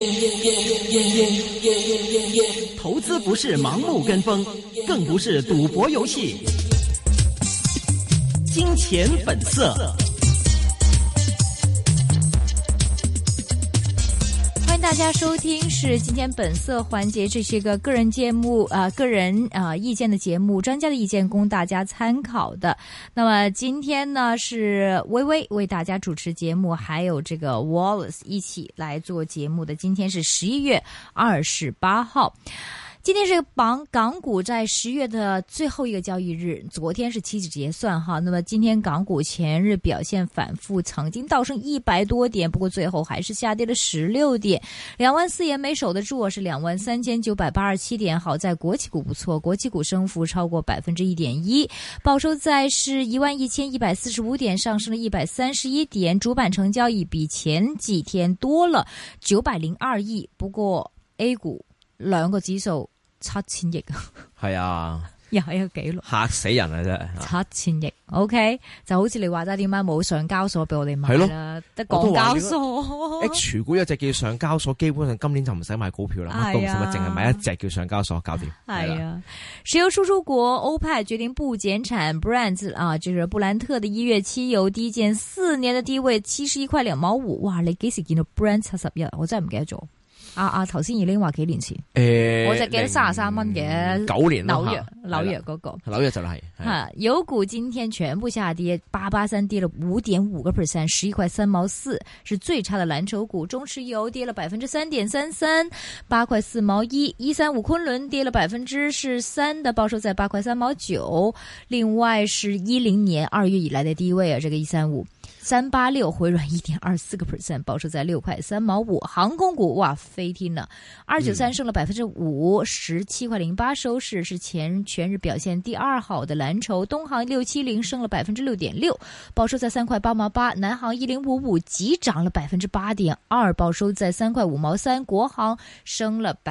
投资不是盲目跟风，更不是赌博游戏。金钱本色。 欢迎大家收听是今天本色环节，这是一个个人节目个人意见的节目，专家的意见供大家参考的。那么今天呢是微微为大家主持节目，还有这个 Wallace 一起来做节目的。今天是11月28号。今天是港股在10月的最后一个交易日，昨天是期指结算哈。那么今天港股前日表现反复，曾经倒升100多点，不过最后还是下跌了16点，24000也没守得住，是23987点。好在国企股不错，国企股升幅超过1.1%，报收在是11145点，上升了131点，主板成交亦比前幾天多了902億。不過 A 股兩個指數7000億， 係啊， 又係一個紀錄， 嚇死人啊！真係 7000億。OK， 就好似你話齋，點解冇上交所俾我哋買啦？得港交所 H 股有隻叫上交所，基本上今年就唔使買股票啦，乜都唔使，淨係買一隻叫上交所，搞掂。 係啊，石油輸出國歐派決定不減產 ，Brent 就是布蘭特的1月期油低見4年的低位71塊2毛5。哇！你幾時見到 Brent 71？我真係唔記得咗。頭先已經話幾年前，我就記得33蚊嘅 9年紐約嗰個， 紐約就係油股今天全部下跌，883跌了5.5%，11塊3毛4，是最差的藍籌股。中石油跌了3.33%，8塊4毛1，135昆侖跌了3%的，報收在8塊3毛9。另外是10年2月以來的低位這個135。386回軟1.24%，報收在6塊3毛5。航空股哇飛天了，293升了5%，17塊08收市，是全日表現第二好的藍籌。東航670升了6.6%，報收在3塊8毛8。南航1055急漲了8.2%，報收在3塊5毛3。國航升了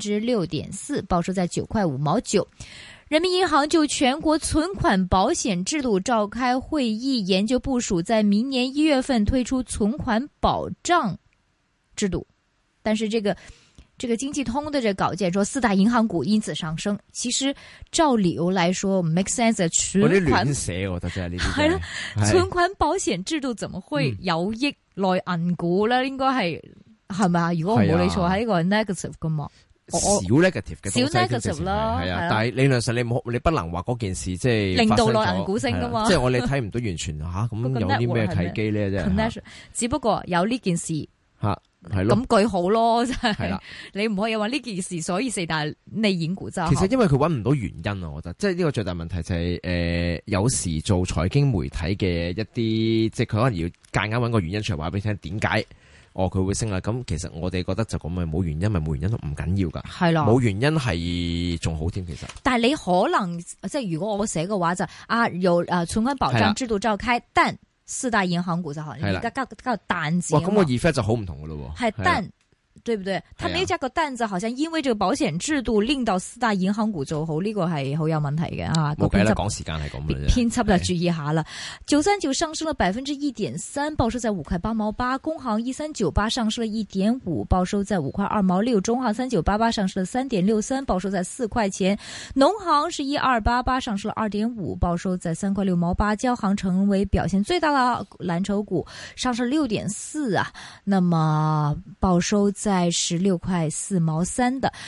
6.4%，報收在9塊5毛9。人民銀行就全國存款保險制度召開會議，研究部署在明年1月份推出存款保障制度。但是這個經濟通的這稿件說4大銀行股因此上升，其實照理由來說 make sense 的存款亂寫，我覺得真係呢啲。 係啦，存款保險制度怎麼會有益內銀股咧？應該係咪啊？如果我冇理錯，係呢個 negative 噶嘛？ 少 negative 嘅少 negative 啦， 係啊，但係理論上你不能話嗰件事即係令到內銀股升噶嘛， 即係我哋睇唔到完全吓咁有啲咩契機咧啫。 只不過有呢件事吓係咯， 咁句好咯，真係。 係啦， 你唔可以話呢件事，所以4大內銀股就。 其實因為佢搵唔到原因啊，我覺得即係呢個最大問題就係有時做財經媒體嘅一啲，即係佢可能要夾硬搵個原因出嚟話俾你聽點解。佢會升啦，咁其實我哋覺得就咁咪冇原因，咪冇原因都唔緊要噶，係咯，冇原因係仲好添，其實。但係你可能即係如果我寫嘅話就有存款保障制度召開，但4大銀行股就可能而家加個但字。哇，咁個 effect 就好唔同噶咯喎。係但。對不對？他沒有加個但字，好像因為這個保險制度令到4大銀行股做好，呢個係好有問題嘅啊！冇計啦，講時間係咁嘅啫。 編輯就注意下啦。939上升了1.3%，報收在5塊8毛8。工行1398上升了1.5%，報收在5塊2毛6。中行3988上升了3.63%，報收在4塊錢。農行是1288上升了2.5%，報收在3塊6毛8。交行成為表現最大的藍籌股，上升6.4%啊。那麼報收在16塊4毛3的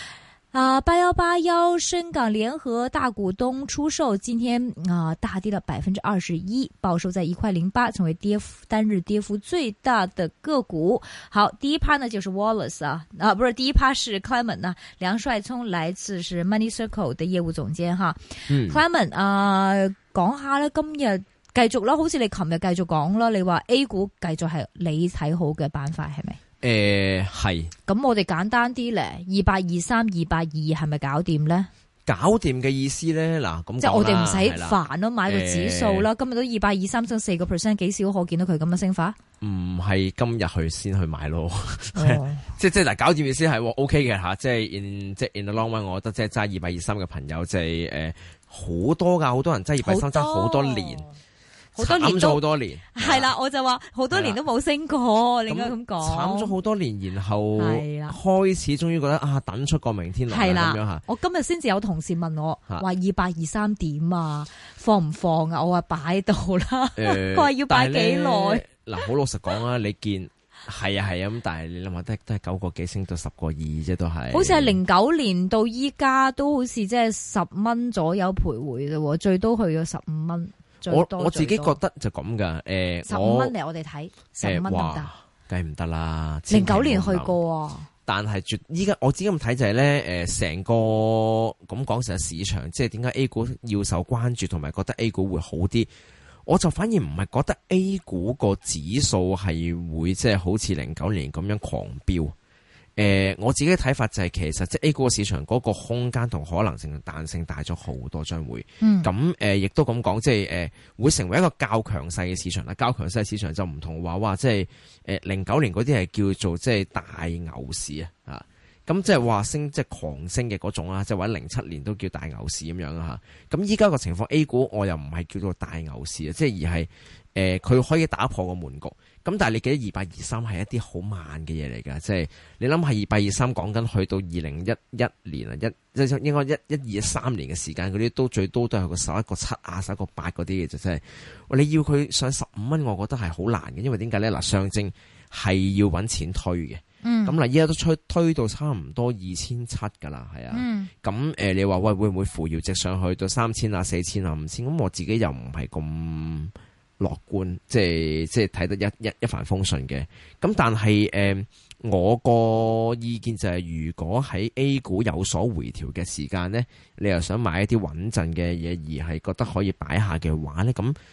8181深港聯合大股東出售，今天大跌了21%，報收在1塊08，成為單日跌幅最大的個股。好，第一趴呢就是 Wallace 不是，第一趴是 Clement 啊，梁帥聰來自是 Money Circle 的業務總監哈。Clement 講下咧，今日繼續啦，好似你琴日繼續講啦，你話 A 股繼續係你睇好嘅板塊係咪？ 係。 咁我哋簡單啲咧，2823、282係咪搞掂咧？ 搞掂嘅意思咧，嗱咁即係我哋唔使煩咯，買個指數啦。今日都2823升4%，幾少可見到佢咁嘅升法？ 唔係今日去先去買咯，即係嗱，搞掂意思係 OK 嘅吓，即係 in the long run， 我覺得即係揸2823嘅朋友即係好多噶，好多人揸2823揸好多年。 好多年慘咗好多年， 係啦，我就話好多年都冇升過，你應該咁講。 慘咗好多年，然後係啦開始終於覺得等出個明天來係啦咁樣嚇。 啦，我今日先至有同事問我話2823點啊，放唔放啊？我話擺到啦，佢話要擺幾耐？ 嗱，好老實講啊，你見係啊咁，但係你諗下都係9個幾升到10個2啫，都係。 好似係09年到依家都好似即係10蚊左右徘徊啫，最多去咗15蚊。 我自己覺得就咁噶 ，15蚊嚟我哋睇15蚊得唔得？ 梗係唔得啦。 09年去過啊， 但係依家我自己咁睇就係咧，成個咁講成個市場，即係點解 A 股要受關注，同埋覺得 A 股會好啲？我就反而唔係覺得 A 股個指數係會即係好似09年咁樣狂飆。我自己嘅睇法就係其實即係 A 股個市場嗰個空間同可能性彈性大咗好多，將會咁亦都咁講，即係會成為一個較強勢嘅市場啦。較強勢嘅市場就唔同話即係09年嗰啲係叫做即係大牛市啊，咁即係話升即係狂升嘅嗰種啦，即係或者07年都叫大牛市咁樣啊。咁依家個情況 A 股我又唔係叫做大牛市啊，即係而係佢可以打破個門局。咁但係你記得2823係一啲好慢嘅嘢嚟㗎，即係你諗下2823講緊去到2011年啊，即係應該1213年嘅時間，嗰啲都最多都係個11個7啊11個8嗰啲嘅啫，即係你要佢上15蚊，我覺得係好難嘅，因為點解咧？嗱，上證係要揾錢推嘅，咁嗱依家都推到差唔多2700㗎啦，係啊，咁你話喂會唔會扶搖直上去到3000啊4000啊5000？咁我自己又唔係咁樂觀，即係睇得一帆風順嘅。咁但係我個意見就係，如果喺 A 股有所回調嘅時間呢，你又想買一啲穩陣嘅嘢，而係覺得可以擺下嘅話呢，咁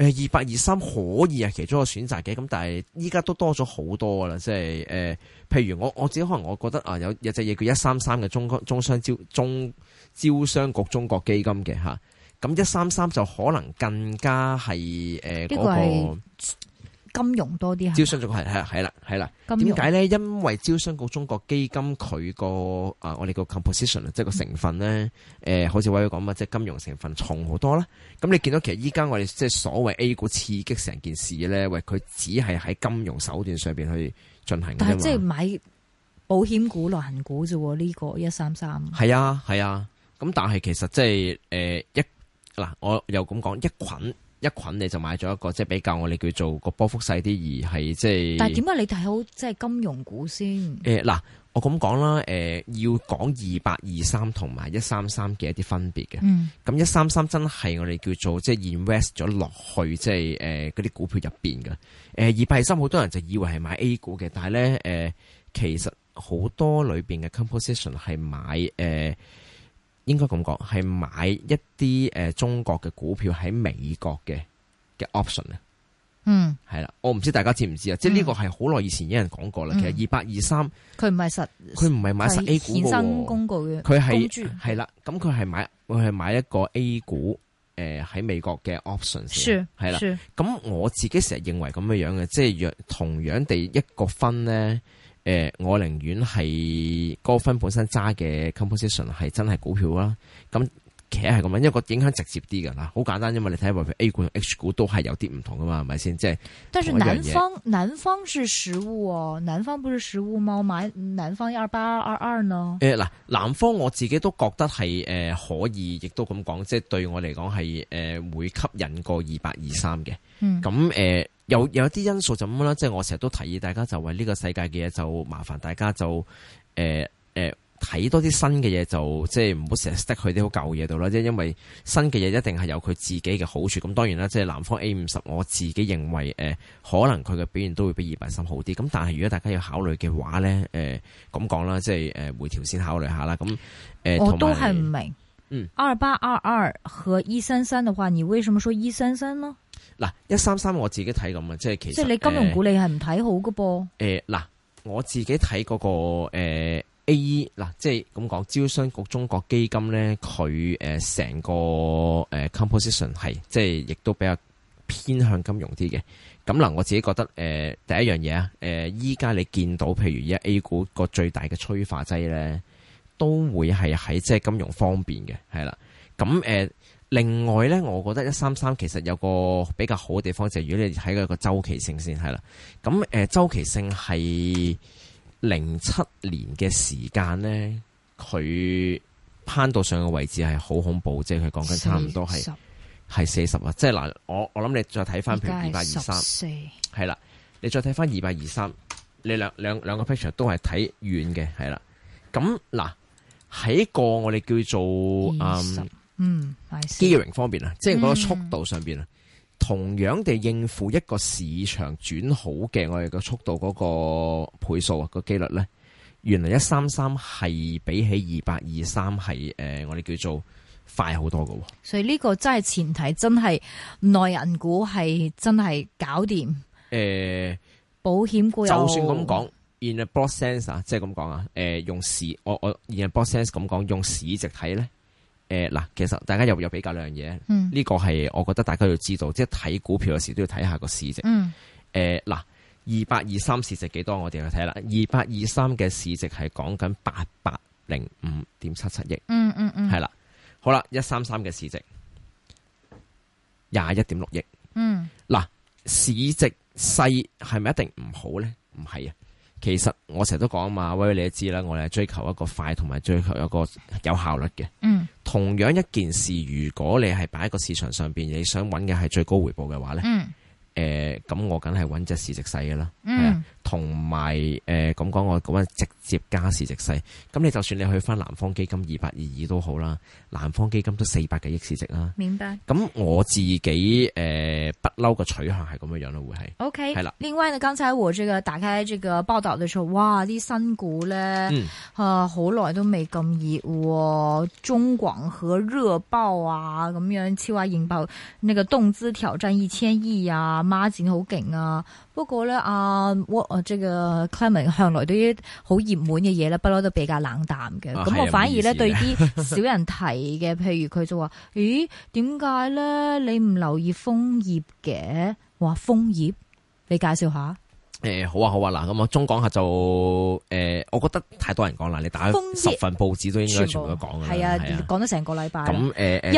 2823可以係其中一個選擇嘅。咁但係依家都多咗好多噶啦，即係譬如我自己可能我覺得啊，有隻嘢叫133嘅招商局中國基金嘅嚇。咁133就可能更加係嗰個金融多啲， 招商局係啦。點解咧？因為招商局中國基金佢個我哋個 composition 即係個成分咧，好似偉講即係金融成分重好多啦。咁你見到其實依家我哋即係所謂 A 股刺激成件事咧，喂，佢只係喺金融手段上邊去進行嘅啫嘛。 但係即係買保險股、內銀股啫，呢個133。 係啊。咁但係其實即係嗱，我又咁講，一捆你就買咗一個即係比較我哋叫做個波幅細啲，而係即係。但係點解你睇好即係金融股先？嗱，我咁講啦，要講2823同埋133嘅一啲分別嘅。咁133真係我哋叫做即係 invest 咗落去，即係嗰啲股票入邊嘅。2823好多人就以為係買 A 股嘅，但係咧其實好多裏邊嘅 composition 係買應該咁講，係買一啲中國嘅股票喺美國嘅 option 啊。係啦，我唔知大家知唔知啊？即係呢個係好耐以前有人講過啦。其實2823 佢唔係買實 A 股嘅， 衍生工具嘅， 佢係啦。咁佢係買一個 A 股喺美國嘅 option 先係啦。咁我自己成日認為咁樣嘅，即係同樣地一個分咧。我寧願係嗰個分本身揸嘅 composition 係真係股票啦，咁其實係咁樣，因為個影響直接啲㗎啦，好簡單，因為你睇下譬如 A 股同 H 股都係有啲唔同㗎嘛，係咪先？即係但是南方是實物哦，南方不是實物嗎？買南方2822呢？ 嗱，南方我自己都覺得係可以，亦都咁講，即係對我嚟講係會吸引過2823嘅。咁有啲因素就咁啦，即係我成日都提議大家就為呢個世界嘅嘢就麻煩大家就睇多啲新嘅嘢，就即係唔好成日 stick 去啲好舊嘢度啦。即係因為新嘅嘢一定係有佢自己嘅好處。咁當然啦，即係南方 A50，我自己認為可能佢嘅表現都會比2823好啲。咁但係如果大家要考慮嘅話咧，咁講啦，即係回調先考慮下啦。咁我都係唔明，2822和133嘅話，你為什麼說133呢？ 嗱，133我自己睇咁啊，即係其實即係你金融股你係唔睇好㗎噃？ 嗱，我自己睇嗰個A 嗱，即係咁講，招商局中國基金咧，佢成個composition 係即係亦都比較偏向金融啲嘅。咁嗱，我自己覺得第一樣嘢啊，依家你見到譬如而家 A 股個最大嘅催化劑咧，都會係喺即係金融方面嘅，係啦。咁另外咧，我覺得133其實有個比較好嘅地方就係，如果你睇佢個周期性先係啦。咁周期性係07年嘅時間咧，佢攀到上嘅位置係好恐怖，即係佢講緊差唔多係40啊！即係嗱，我諗你再睇翻譬如223，係啦，你再睇翻223，你兩個 picture 都係睇遠嘅，係啦。咁嗱喺個我哋叫做gearing 方面啊，即係嗰個速度上邊啊，同樣地應付一個市場轉好嘅我哋個速度嗰個倍數啊，個機率咧，原來133係比起223係我哋叫做快好多嘅。所以呢個真係前提，真係內銀股係真係搞掂。保險股就算咁講 ，in a broad sense 啊，即係咁講啊，用市我 in a broad sense 咁講，用市值睇咧。嗱，其實大家有比較兩樣嘢，呢個係我覺得大家要知道，即係睇股票嘅時都要睇下個市值。嗱，2823市值幾多？我哋去睇啦。2823嘅市值係講緊805.77億。係啦，好啦，133嘅市值21.6億。嗱，市值細係咪一定唔好咧？唔係啊。其實我成日都講啊嘛，威你都知啦，我哋係追求一個快同埋追求一個有效率嘅。同樣一件事，如果你係擺喺個市場上邊，你想揾嘅係最高回報嘅話咧，咁我梗係揾隻市值細嘅啦。同埋咁講，我講直接加市值細。咁你就算你去翻南方基金2822都好啦，南方基金都400幾億市值啦。 明白。咁我自己不嬲個取向係咁樣樣咯，會係。 OK。 係啦。 另外呢，剛才我打開這個報道嘅時候，哇！啲新股咧，好耐都未咁熱喎。中廣核熱爆啊，咁樣超額認爆，那個動資挑戰1000億啊，孖展好勁啊。不過咧，這個 Clement 向來對於好熱門嘅嘢咧，不嬲都比較冷淡嘅。咁我反而咧對啲少人提嘅，譬如佢就話：咦，點解咧你唔留意楓葉嘅？話楓葉，你介紹下。 好啊，嗱，咁啊，中廣核就我覺得太多人講啦，你打10份報紙都應該全部都講嘅。係啊，講咗成個禮拜。 咁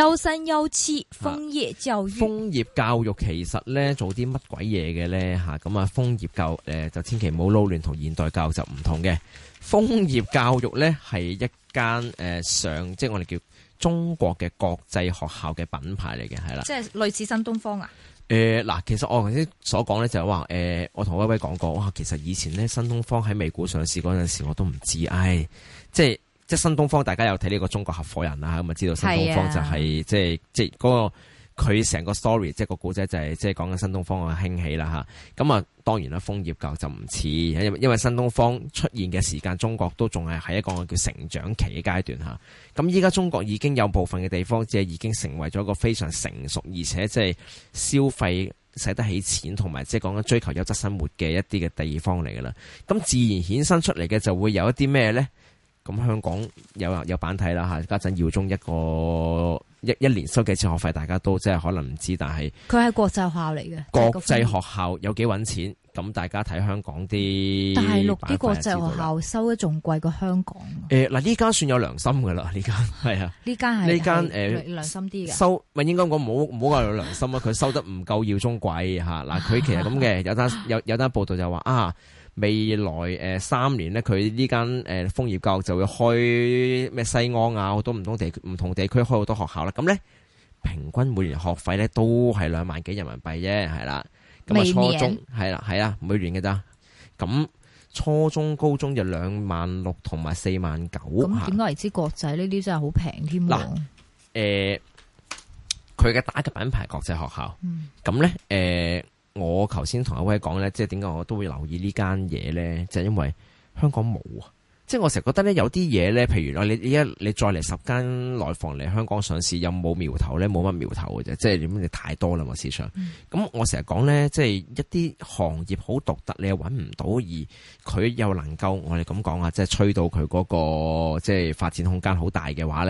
13、17楓葉教育。楓葉教育其實咧做啲乜鬼嘢嘅咧嚇？咁啊，楓葉教育就千祈唔好撈亂，同現代教育就唔同嘅。楓葉教育咧係一間即係我哋叫中國嘅國際學校嘅品牌嚟嘅，係啦。即係類似新東方啊？嗱，其實我頭先所講咧就係話，我同威威講過，哇，其實以前咧新東方喺美股上市嗰陣時，我都唔知，即係新東方，大家有睇呢個中國合夥人啦，咁啊知道新東方就係即係嗰個佢成個 story， 即係個故仔就係即係講緊新東方嘅興起啦嚇。咁啊當然啦，楓葉教育就唔似，因為新東方出現嘅時間，中國都仲係喺一個叫成長期嘅階段嚇。咁依家中國已經有部分嘅地方，即係已經成為咗一個非常成熟，而且即係消費使得起錢，同埋即係講緊追求優質生活嘅一啲嘅地方嚟㗎啦。咁自然衍生出嚟嘅就會有一啲咩咧？咁香港有版睇啦嚇，家陣耀中一年收幾次學費，大家都即係可能唔知，但係佢係國際學校嚟嘅。國際學校有幾揾錢？咁大家睇香港啲大陸啲國際學校收得仲貴過香港。 嗱呢間算有良心㗎啦，呢間係啊， 呢間係呢間良心啲嘅。收咪應該講唔好話有良心啊，佢收得唔夠耀中貴嚇。嗱佢其實咁嘅，有單報道就話啊。未來3年咧，佢呢間楓葉教育就會開咩西安啊，好多唔同地區開好多學校啦。咁咧平均每年學費咧都係2萬幾人民幣啫，係啦。咁啊初中係啊，每年嘅咋。咁初中、高中就26000同埋49000。 咁點解為之國際呢啲真係好平添？ 嗱佢嘅打嘅品牌國際學校。咁咧我頭先同阿威講咧，即係點解我都會留意呢間嘢咧？就係因為香港冇啊！即係我成日覺得咧，有啲嘢咧，譬如你再嚟10間內房嚟香港上市，有冇苗頭咧？冇乜苗頭嘅啫，即係點？你太多啦嘛市場。咁我成日講咧，即係一啲行業好獨特，你又揾唔到，而佢又能夠我哋咁講啊，即係吹到佢嗰個即係發展空間好大嘅話咧。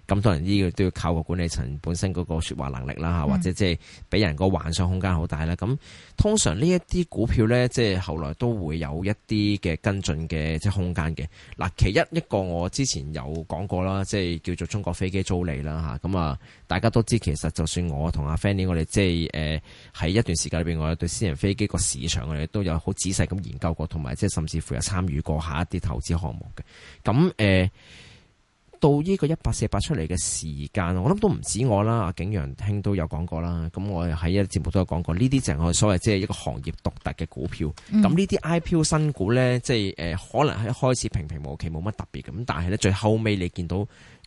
咁當然呢個都要靠個管理層本身嗰個說話能力啦，或者即係俾人個幻想空間好大啦。咁通常呢一啲股票咧，即係後來都會有一啲嘅跟進嘅即係空間嘅。嗱，其一個我之前有講過啦，即係叫做中國飛機租賃啦嚇。咁啊，大家都知其實就算我同阿 Fanny 我哋即係喺一段時間裏邊，我哋對私人飛機個市場我哋都有好仔細咁研究過，同埋即係甚至乎有參與過下一啲投資項目嘅。咁到呢個1848出嚟嘅時間，我諗都唔止我啦，阿景陽兄都有講過啦。咁我喺一啲節目都有講過，呢啲就係我哋所謂即係一個行業獨特嘅股票。咁呢啲 IPO 新股咧，即係可能喺開始平平無奇冇乜特別咁，但係咧最後尾你見到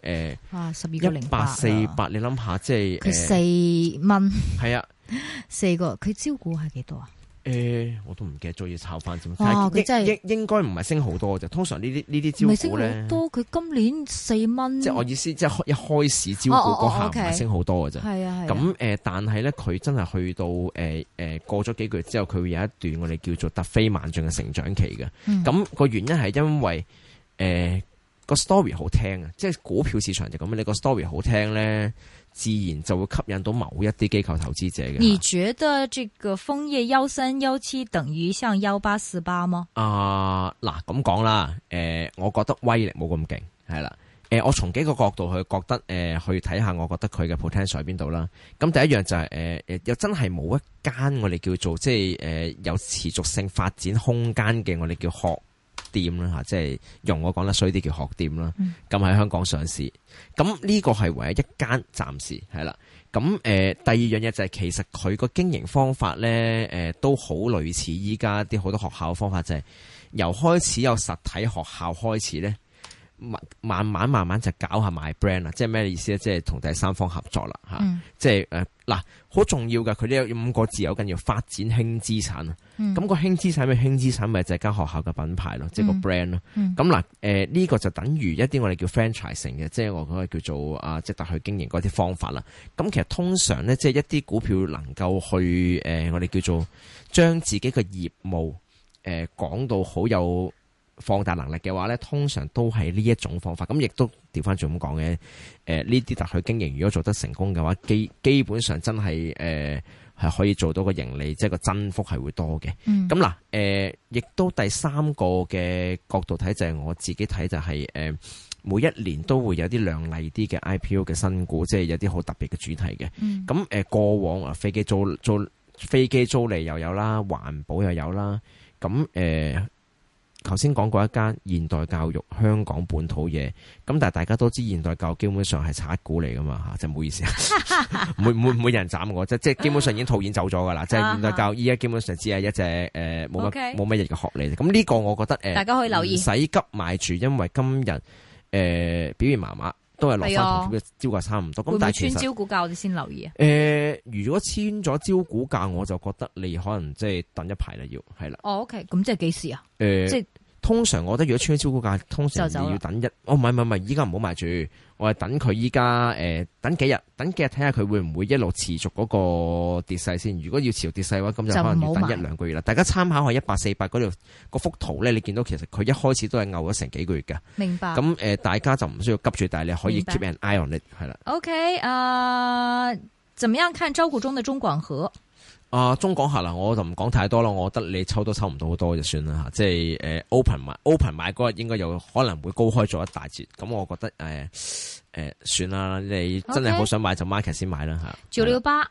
1848，你諗下即係佢4蚊， 係啊 ，4個佢招股係幾多啊？ 我都唔記得咗，要炒翻先。 佢真係應該唔係升好多嘅，通常呢啲招股咧， 唔係升好多。佢今年4蚊， 即係我意思，即係一開始招股嗰下唔係升好多嘅啫。 係啊係。 咁但係咧，佢真係去到過咗幾個月之後，佢會有一段我哋叫做突飛猛進嘅成長期嘅。咁個原因係因為個 story 好聽啊，即係股票市場就咁，你個 story 好聽咧，自然就會吸引到某一啲機構投資者嘅。 你覺得這個楓葉1317等於像1848嗎？ 嗱咁講啦，我覺得威力冇咁勁，係啦。我從幾個角度去覺得去睇下，我覺得佢嘅 potential 喺邊度啦。咁第一樣就係又真係冇一間我哋叫做即係有持續性發展空間嘅，我哋叫學店啦嚇，即係用我講得衰啲叫學店啦。咁喺香港上市，咁呢個係唯一一間暫時係啦。咁第二樣嘢就係其實佢個經營方法咧，都好類似依家啲好多學校嘅方法，就係由開始有實體學校開始咧。慢慢就搞下賣 brand 啦，即係咩意思咧？即係同第三方合作啦，即係好重要㗎。佢呢有5個字，有緊要發展輕資產啊。咁個輕資產咩？輕資產咪就係間學校嘅品牌咯，即係個 brand 咯。咁呢個就等於一啲我哋叫 franchising 嘅，即係我講嘅叫做即係特許經營嗰啲方法啦。咁其實通常咧，即係一啲股票能夠去我哋叫做將自己嘅業務講到好有放大能力嘅話咧，通常都係呢一種方法。咁亦都調翻轉咁講嘅，呢啲特許經營如果做得成功嘅話，基本上真係係可以做到個盈利，即係個增幅係會多嘅。咁亦都第三個嘅角度睇就係我自己睇就係每一年都會有啲亮麗啲嘅 IPO 嘅新股，即係有啲好特別嘅主題嘅。咁過往飛機租賃又有啦，環保又有啦。咁頭先講過一間現代教育香港本土嘢，咁但係大家都知現代教育基本上係賊股嚟噶嘛嚇，真係唔好意思啊，每人斬我，即係基本上已經套現走咗噶啦，即係現代教育依家基本上只係一隻冇乜嘢嘅學歷。咁呢個我覺得大家可以留意，唔使急買住，因為今日表現麻麻，都係落翻同招價差唔多。咁但係穿招股價我哋先留意啊。 如果穿咗招股價，我就覺得你可能即係等一排啦，要係啦。 OK，咁即係幾時啊？即係通常我覺得如果穿咗招股價，通常你要等唔係，依家唔好買住，我係等佢依家等幾日睇下佢會唔會一路持續嗰個跌勢先。如果要持續跌勢嘅話，咁就可能要等1-2個月啦。大家參考下1848嗰度嗰幅圖咧，你見到其實佢一開始都係牛咗成幾個月㗎。 明白。 咁大家就唔需要急住，但係你可以 keep an eye on it 係啦。 OK，怎麼樣看招股中的中廣核？ 中廣核啦，我就唔講太多啦。我覺得你抽都抽唔到好多就算啦嚇，即係open 買嗰日應該有可能會高開咗一大截。咁我覺得算啦，你真係好想買就 market 先買啦嚇。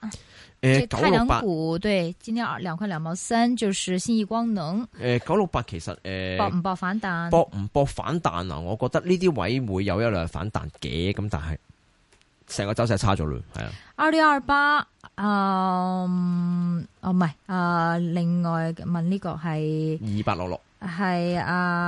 968太陽股對，今天2塊2毛3，就是信義光能。 968其實搏唔搏反彈？ 搏唔搏反彈啊？我覺得呢啲位會有一兩反彈嘅，咁但係成個走勢差咗咯，係啊。 2628，唔係，另外問呢個係 2866， 係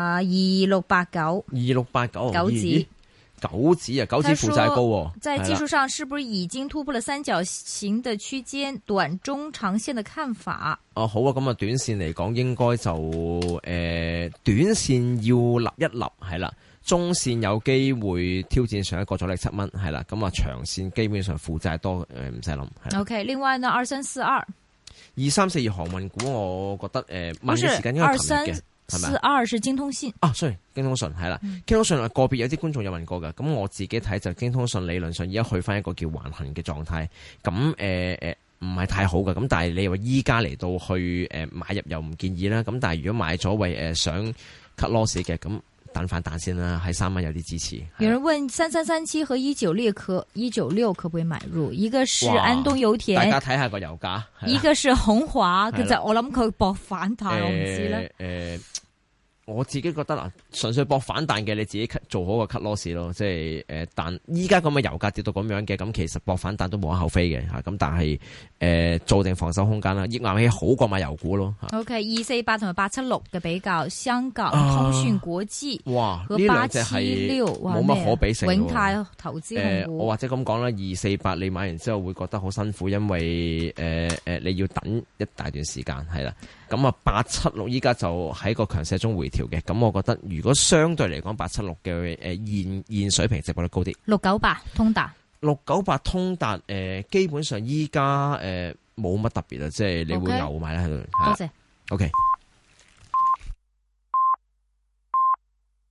2689， 2689九指負債高。 在技術上是不是已經突破了三角形的區間？短中長線的看法？ 好啊，咁啊，短線嚟講應該就短線要立一立係啦。中線有機會挑戰上一個阻力7蚊，係啦，咁啊長線基本上負債多，唔使諗。 OK，另外呢2342航運股，我覺得問嘅時間應該琴日嘅係咪 ？42是京通訊啊，sorry，京通訊係啦，京通訊個別有啲觀眾有問過㗎，咁我自己睇就京通訊理論上而家去翻一個叫橫行嘅狀態，咁唔係太好嘅，咁但係你話依家嚟到去買入又唔建議啦，咁但係如果買咗為想 cut loss 嘅，咁等反彈先啦，喺3蚊有啲支持。 有人問3337和196可不可以買入？一個是安東油田， 大家睇下個油價， 一個是鴻華，其實我諗佢搏反彈，我唔知咧。 我自己覺得純粹搏反彈嘅，你自己做好個 cut loss 咯，即係但依家咁嘅油價跌到咁樣嘅，咁其實搏反彈都無可厚非嘅嚇，咁但係做定防守空間啦，液硬氣好過買油股咯。 OK， 248同埋876嘅比較，香港通訊國際哇， 和呢兩隻係冇乜可比性喎。 永泰投資控股， 我或者咁講啦，248你買完之後會覺得好辛苦，因為你要等一大段時間係啦。咁啊，876依家就喺個強勢中回調嘅，咁我覺得如果相對嚟講，876嘅現水平值博率高啲。 698通達 698通達基本上依家冇乜特別啦，即係你會牛買啦喺度。 多謝。 OK。